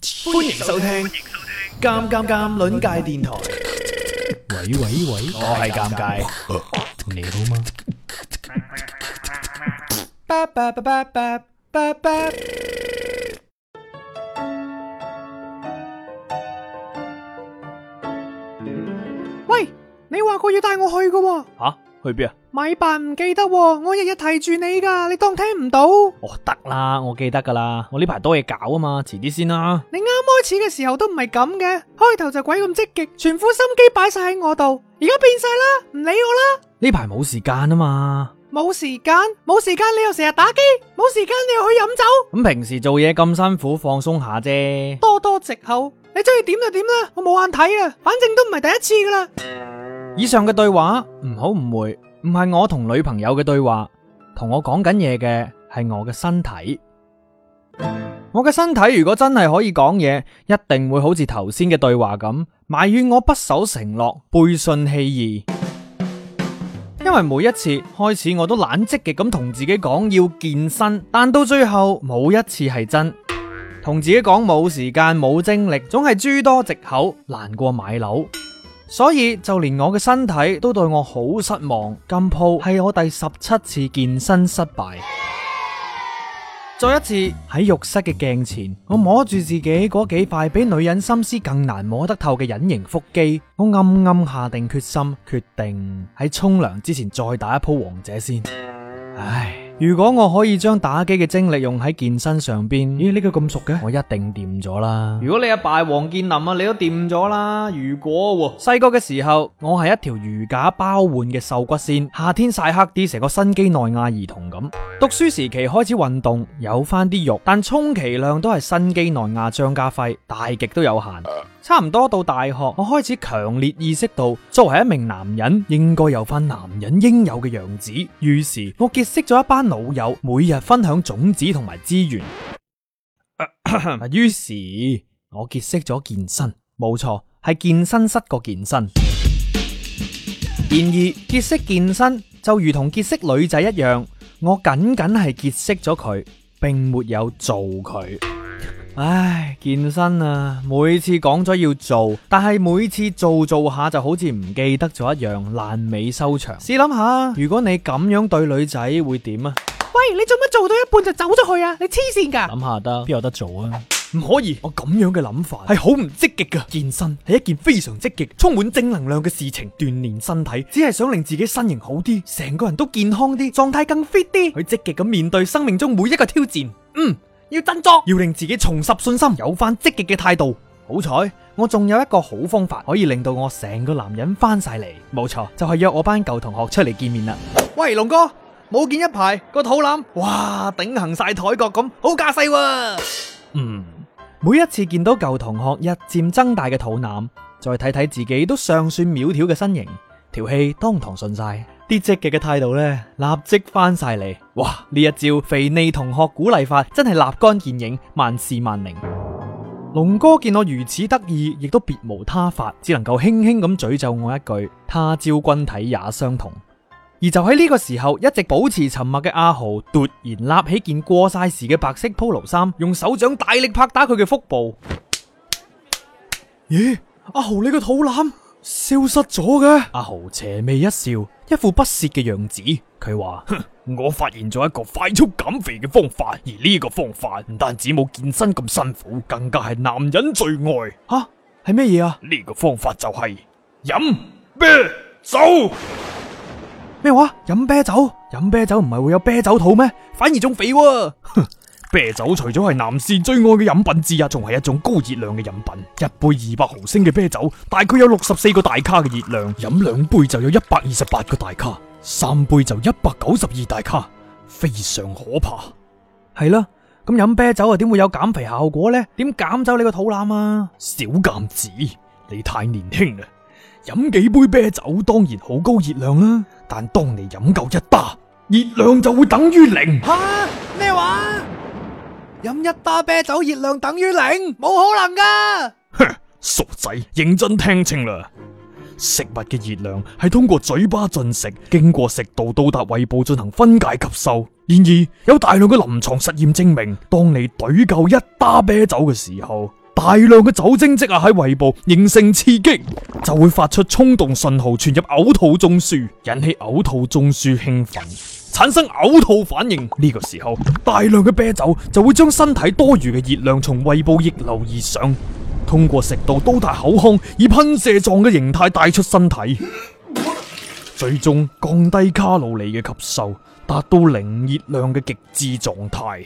歡迎收聽尷尷尷鄰界電台。 喂， 我係尷尬， 你好嗎？ 巴巴巴巴巴巴巴。 喂，你話過要帶我去㗎喎。 吓？去邊啊？ 咪扮唔記得喎，我日日提住你噶，你當聽唔到？ 哦，得啦，我記得噶啦，我呢排多嘢搞啊嘛，遲啲先啦。 你啱開始嘅時候都唔係咁嘅，開頭就鬼咁積極，全副心機擺晒喺我度，而家變晒啦，唔理我啦。 呢排冇時間啊嘛。 冇時間你又成日打機，冇時間你又去飲酒。 咁平時做嘢咁辛苦，放鬆下啫。 多藉口，你中意點就點啦，我冇眼睇啊，反正都唔係第一次噶啦。 以上嘅對話唔好誤會，唔係我同女朋友嘅對話，同我講緊嘢嘅係我嘅身體。我嘅身體如果真係可以講嘢，一定會好似頭先嘅對話咁，埋怨我不守承諾，背信棄義。因為每一次開始我都懶積極咁同自己講要健身，但到最後冇一次係真。同自己講冇時間冇精力，總係諸多藉口，難過買樓。所以就連我嘅身體都對我好失望。今鋪係我第17次健身失敗。再一次喺浴室嘅鏡前，我摸住自己嗰幾塊比女人心思更難摸得透嘅隱形腹肌，我暗暗下定決心，決定喺沖涼之前再打一鋪王者先。唉，如果我可以將打機嘅精力用喺健身上邊，咦，呢個咁熟嘅，我一定掂咗啦。如果你阿爸係王健林啊，你都掂咗啦。如果細個嘅時候，我係一條如假包換嘅瘦骨仙，夏天曬黑啲，成個新幾內亞兒童咁。讀書時期開始運動，有翻啲肉，但充其量都係新幾內亞張家輝，大極都有限。差唔多到大學，我開始強烈意識到，作為一名男人應該有翻男人應有嘅樣子。於是我結識咗一班老友，每日分享種子同埋資源。於是我結識咗健身，冇錯，係健身室個健身。然而結識健身就如同結識女仔一樣，我僅僅係結識咗佢，並沒有做佢。唉，健身啊，每次講咗要做，但係每次做下就好似唔記得咗一樣，爛尾收場。試諗下，如果你咁樣對女仔會點啊？ 喂，你做乜做到一半就走咗去啊？你黐線噶？ 諗下得，邊有得做啊？唔可以，我咁樣嘅諗法係好唔積極噶。健身係一件非常積極、充滿正能量嘅事情，鍛煉身體只係想令自己身形好啲，成個人都健康啲，狀態更 fit 啲，去積極咁面對生命中每一個挑戰。要振作，要令自己重拾信心，有翻積極嘅態度。好彩，我仲有一個好方法可以令到我成個男人翻晒嚟。冇錯，就係約我班舊同學出嚟見面啦。喂，龍哥，冇見一排個肚腩，哇，頂行晒台角咁，好架勢喎。每一次見到舊同學日漸增大嘅肚腩，再睇睇自己都尚算苗條嘅身形，條氣當堂順晒，啲積極嘅態度呢，立即翻晒嚟。哇！呢一招肥膩同學鼓勵法真係立竿見影，萬事萬靈。龍哥見我如此得意，亦都別無他法，只能夠輕輕咁詛咒我一句：他朝君體也相同。而就喺呢個時候，一直保持沉默嘅阿豪突然立起件過晒時嘅白色 polo 衫，用手掌大力拍打佢嘅腹部。咦？阿豪，你個肚腩消失咗嘅？阿豪邪魅一笑，一副不屑嘅樣子。佢話：我發現咗一個快速減肥嘅方法，而呢個方法唔單止冇健身咁辛苦，更加係男人最愛。吓？係咩嘢啊？呢個方法就係飲啤酒。咩話？飲啤酒？飲啤酒唔係會有啤酒肚咩？反而仲肥喎。啤酒除咗係男士最愛嘅飲品之一，仲係一種高熱量嘅飲品。一杯200毫升嘅啤酒，大概有64個大卡嘅熱量。飲2杯就有128個大卡，3杯就192大卡，非常可怕。係啦，咁飲啤酒啊，點會有減肥效果呢？點減走你個肚腩啊？小鑑子，你太年輕啦！飲幾杯啤酒當然好高熱量啦，但當你飲夠一打，熱量就會等於0。 吓？咩話？飲一打啤酒熱量等於0？冇可能噶！ 哼，傻仔，認真聽清啦。食物嘅熱量係通過嘴巴進食，經過食道到達胃部進行分解吸收。然而有大量嘅臨床實驗證明，當你懟夠一打啤酒嘅時候， 大量嘅酒精積壓喺胃部，形成刺激，就會發出衝動信號傳入嘔吐中樞，引起嘔吐中樞興奮，產生嘔吐反應。呢個時候，大量嘅啤酒就會將身體多餘嘅熱量從胃部逆流而上，通過食道到達口腔，以噴射狀嘅形態帶出身體，最終降低卡路里嘅吸收，達到零熱量嘅極致狀態。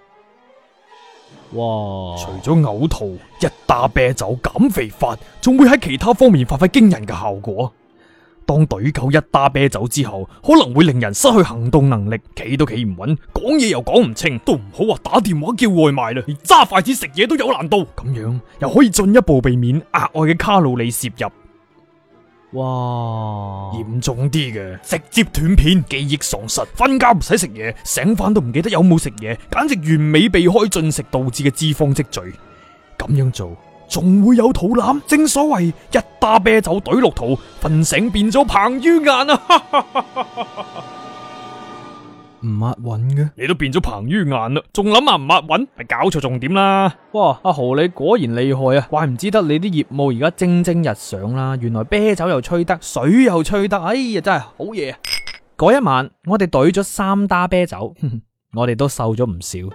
哇！除咗嘔吐，一打啤酒減肥法仲會喺其他方面發揮驚人嘅效果。當隊夠一打啤酒之後，可能會令人失去行動能力，企都企唔穩，講嘢又講唔清，都唔好話打電話叫外賣啦，連揸筷子食嘢都有難度。咁樣又可以進一步避免額外嘅卡路里攝入。哇！嚴重啲嘅，直接斷片、記憶喪失、瞓覺唔使食嘢、醒翻都唔記得有冇食嘢，簡直完美避開進食導致嘅脂肪積聚。咁樣做仲會有肚腩，正所謂一打啤酒懟落肚，瞓醒變咗彭于晏啊！唔抹穩嘅，你都變咗彭于晏啦，仲諗下唔抹穩，係搞錯重點啦！哇，阿豪你果然厲害啊，怪唔知得你啲業務而家蒸蒸日上啦，原來啤酒又吹得，水又吹得，哎呀真係好嘢啊！嗰一晚我哋懟咗3打啤酒，我哋都瘦咗唔少。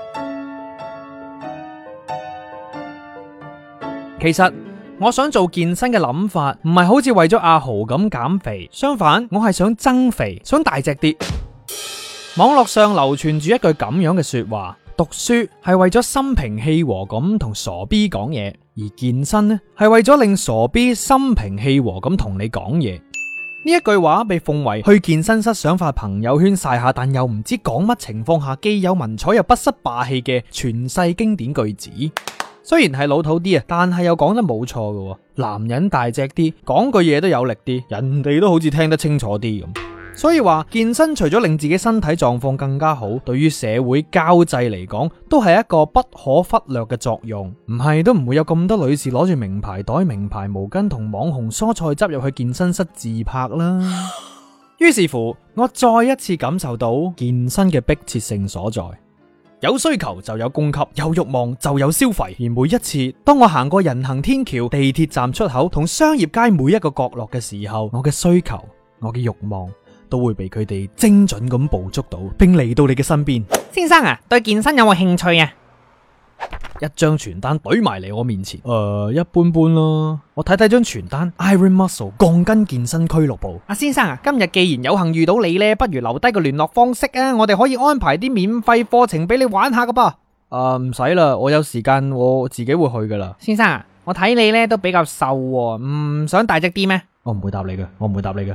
其實我想做健身嘅諗法，唔係好似為咗阿豪咁減肥，相反我係想增肥，想大隻啲。網絡上流傳住一句咁樣嘅說話：讀書係為咗心平氣和咁同傻 B 講嘢，而健身呢係為咗令傻 B 心平氣和咁同你講嘢。呢一句話被奉為去健身室想發朋友圈曬下，但又唔知講乜情況下既有文采又不失霸氣嘅傳世經典句子。雖然係老土啲啊，但係又講得冇錯嘅。男人大隻啲，講句嘢都有力啲，人哋都好似聽得清楚啲咁。所以話健身除咗令自己身體狀況更加好，對於社會交際嚟講都係一個不可忽略嘅作用。唔係都唔會有咁多女士攞住名牌袋、名牌毛巾同網紅蔬菜汁入去健身室自拍啦。於是乎，我再一次感受到健身嘅迫切性所在。有需求就有供給，有慾望就有消費。而每一次當我行過人行天橋、地鐵站出口同商業街每一個角落嘅時候，我嘅需求、我嘅慾望都會被佢哋精準咁捕捉到，並嚟到你嘅身邊。 先生啊，對健身有冇興趣啊？ 一張傳單懟埋嚟我面前，一般般啦。我睇睇張傳單 ，Iron Muscle 鋼筋健身俱樂部。 阿先生啊，今日既然有幸遇到你呢，不如留低個聯絡方式啊，我哋可以安排啲免費課程俾你玩下噶噃。 唔使啦，我有時間我自己會去噶啦。 先生啊，我睇你呢都比較瘦喎，唔想大隻啲咩？ 我唔會答你嘅，我唔會答你嘅。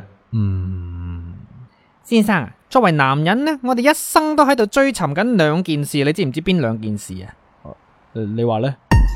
先生啊，作為男人呢，我哋一生都喺度追尋緊兩件事，你知唔知邊兩件事啊？ 你話呢？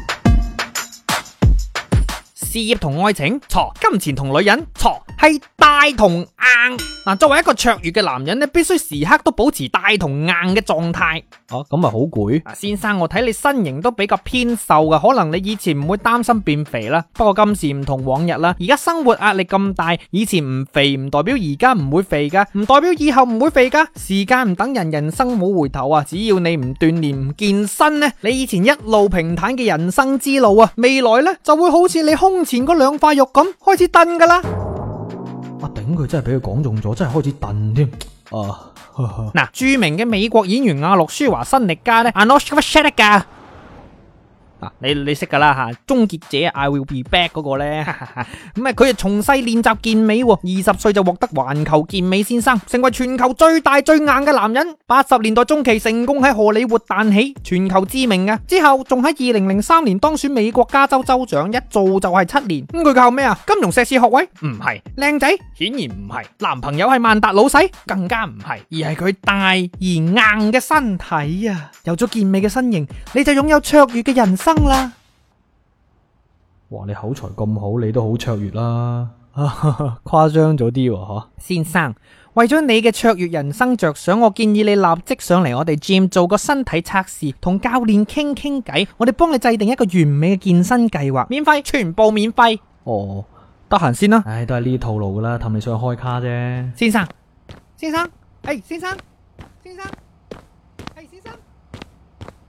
事業同愛情錯，金錢同女人錯，係大同硬。嗱，作為一個卓越嘅男人呢，必須時刻都保持大同硬嘅狀態。 咁咪好攰？ 先生，我睇你身形都比較偏瘦噶，可能你以前唔會擔心變肥啦。不過今時唔同往日啦，而家生活壓力咁大，以前唔肥唔代表而家唔會肥噶，唔代表以後唔會肥噶。時間唔等人，人生冇回頭啊！只要你唔鍛煉唔健身呢，你以前一路平坦嘅人生之路啊，未來呢就會好似你胸前嗰兩塊肉咁開始燉噶啦。 頂佢真係俾佢講中咗，真係開始燉添。 嗱，著名嘅美國演員阿諾舒華辛力加咧，Arnold Schwarzenegger。你識噶啦吓，終結者 I Will Be Back 嗰個咧，咁佢就從細練習健美，20歲就獲得環球健美先生，成為全球最大最硬嘅男人。80年代中期成功喺荷里活彈起，全球知名啊。之後仲喺2003年當選美國加州州長，一做就係7年。咁佢靠咩啊？金融碩士學位？唔係。靚仔？顯然唔係。男朋友係萬達老細？更加唔係。而係佢大而硬嘅身體啊！有咗健美嘅身形，你就擁有卓越嘅人生啦！ 哇，你口才咁好，你都好卓越啦，誇張咗啲喎。 先生，為咗你嘅卓越人生着想，我建議你立即上嚟我哋 gym 做個身體測試，同教練傾傾偈，我哋幫你制定一個完美嘅健身計劃，免費，全部免費。 得閒先啦。都係呢套路噶啦，氹你上去開卡啫。 先生，先生，先生，先生，先生，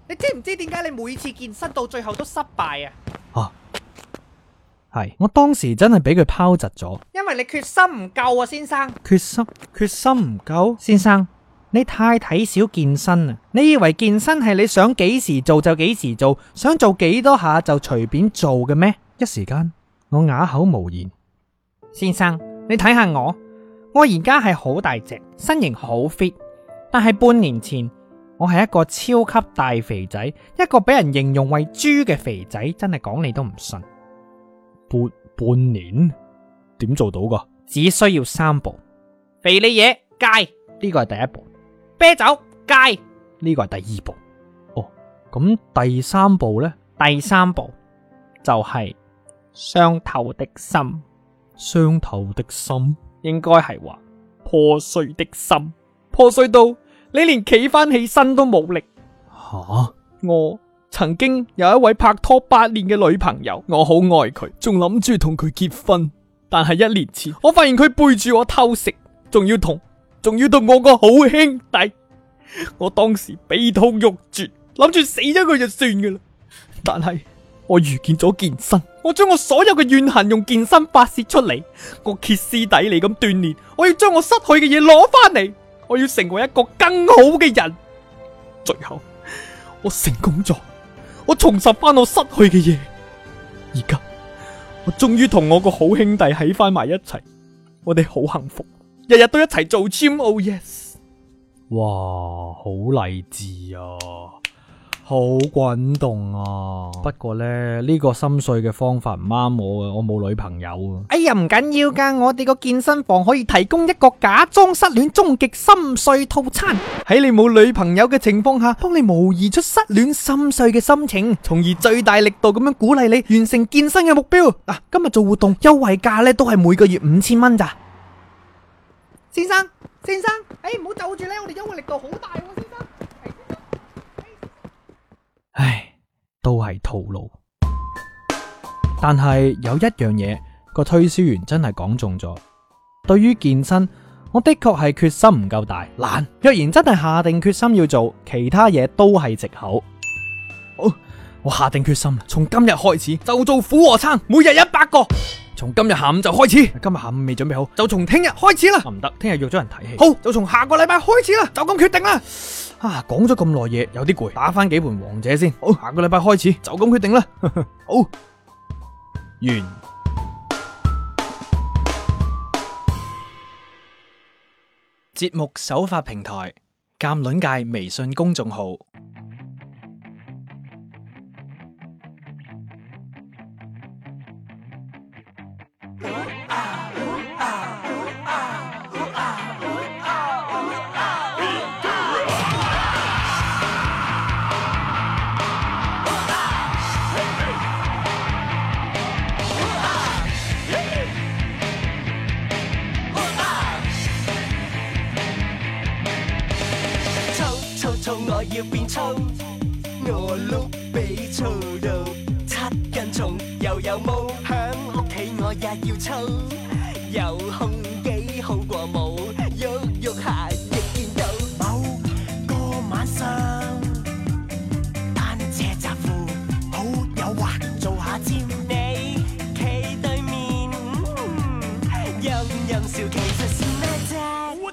你知唔知點解你每次健身到最後都失敗啊？ 係，我當時真係俾佢拋窒咗。 因為你決心唔夠啊，先生。 決心唔夠？ 先生，你太睇小健身啦！你以為健身係你想幾時做就幾時做，想做幾多下就隨便做嘅咩？ 一時間我啞口無言。 先生，你睇下我而家係好大隻，身形好 fit，但係半年前我係一個超級大肥仔，一個俾人形容為豬嘅肥仔，真係講你都唔信。 半年點做到噶？ 只需要3步：肥膩嘢戒，呢個係第一步；啤酒戒，呢個係第二步。 哦，咁第3步呢？ 第3步就係傷透的心。 傷透的心， 應該係話破碎的心，破碎到你連企翻起身都冇力。 吓！ 我曾經有一位拍拖8年嘅女朋友，我好愛佢，仲諗住同佢結婚。但係1年前，我發現佢背住我偷食，仲要同我個好兄弟。我當時悲痛欲絕，諗住死咗佢就算噶啦。但係我遇見咗健身，我將我所有嘅怨恨用健身發洩出嚟，我歇斯底里咁鍛煉，我要將我失去嘅嘢攞翻嚟，我要成為一個更好嘅人。最後我成功咗，我重拾翻我失去嘅嘢。而家我終於同我個好兄弟喺翻埋一齊，我哋好幸福，日日都一齊做 gym。Oh yes！ 哇，好勵志啊，好滾動啊！不過呢個心碎嘅方法唔啱我啊，我冇女朋友啊。 哎呀，唔緊要噶，我哋個健身房可以提供一個假裝失戀終極心碎套餐，喺你冇女朋友嘅情況下，幫你模擬出失戀心碎嘅心情，從而最大力度咁樣鼓勵你完成健身嘅目標。嗱，今日做活動優惠價呢都係每個月5000蚊咋。先生，唔好走住呢，我哋優惠力度好大喎，先生。 唉，都係套路。但係有一樣嘢，個推銷員真係講中咗。對於健身，我的確係決心唔夠大，懶。若然真係下定決心要做，其他嘢都係藉口。好，我下定決心，從今日開始就做俯臥撐，每日100個。從今日下午就開始，今日下午未準備好，就從聽日開始啦。唔得，聽日約咗人睇戲。好，就從下個禮拜開始啦，就咁決定啦。講咗咁耐嘢，有啲攰，打翻幾盤王者先。好，下個禮拜開始，就咁決定啦。好，完。節目首發平台：鑑論界微信公眾號。 我要變粗，我碌比粗到7斤重，又有毛響屋企，我也要粗，有胸肌好過冇，喐喐下亦見到。某個晚上，單車雜褲好誘惑，做下尖，你企對面，陰陰笑，其實是咩啫？我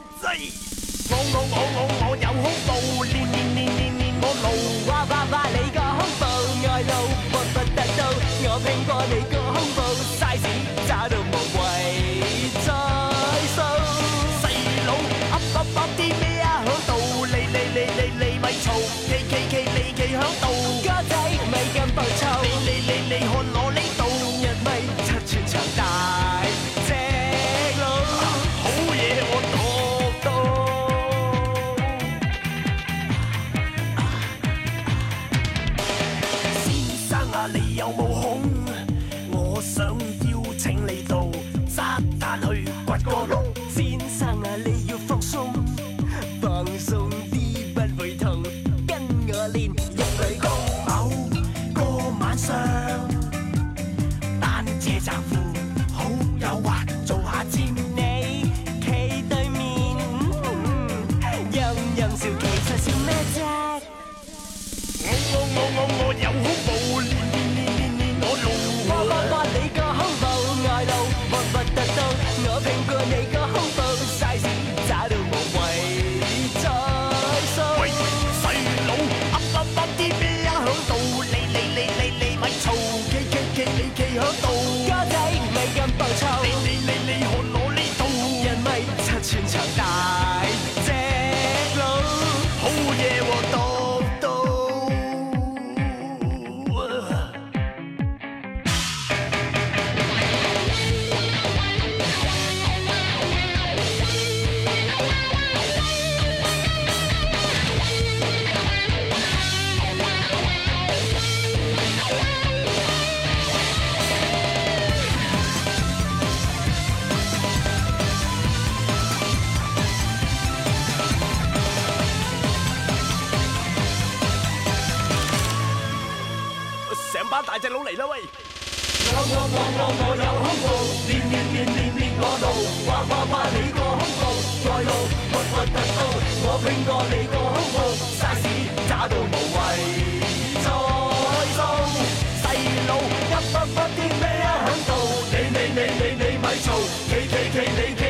有胸部，練我露哇哇哇你個胸部，愛露不得到，我拼過你個胸部 size， 渣到無謂再數。細佬噏啲咩啊響度，你咪嘈，你企響度，哥仔咪咁暴躁，你看我呢度，日咪7寸長大隻佬，好嘢我讀到。你有冇空？我想邀請你到沙灘去掘個窿。先生啊，你要放鬆，放鬆啲不會痛，跟我練一舉功。某個晚上，單車雜褲好誘惑，做下尖，你企對面，陰陰笑，其實笑咩啫？ 啦喂！我有胸部，練我路，話你個胸部，再路核突到，我拼過你個胸部，size渣到無謂再數，細佬屈啲咩啊響度，你咪嘈，企你。